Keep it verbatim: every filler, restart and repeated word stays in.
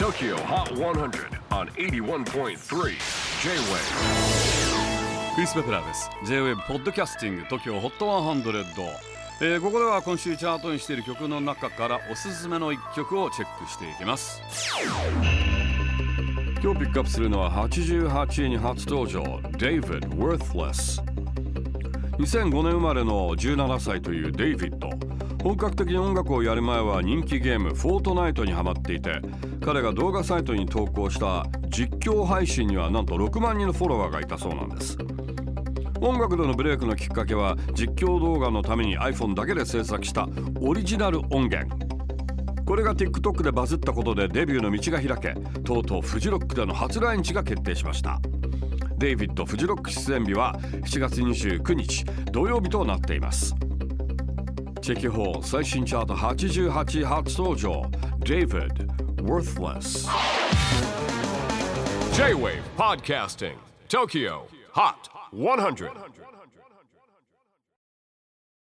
Tokyo Hot one hundred on エイティワンポイントスリー J-Wave。 クリス・ペプラーです。 J-Wave ポッドキャスティング TOKYO ホットひゃく、えー、ここでは今週チャートにしている曲の中からおすすめのいっきょくをチェックしていきます。今日ピックアップするのははちじゅうはちいに初登場 David Worthless。 にせんごねん生まれのじゅうななさいというデイビッド。本格的に音楽をやる前は人気ゲームフォートナイトにハマっていて、彼が動画サイトに投稿した実況配信にはなんとろくまんにんのフォロワーがいたそうなんです。音楽でのブレイクのきっかけは実況動画のために iPhone だけで制作したオリジナル音源。これが TikTok でバズったことでデビューの道が開け、とうとうフジロックでの初来日が決定しました。デイビッドフジロック出演日はしちがつにじゅうくにち土曜日となっています。チェキホー最新チャートはちじゅうはちい初登場 David Worthless。 J-Wave Podcasting Tokyo Hot one hundred。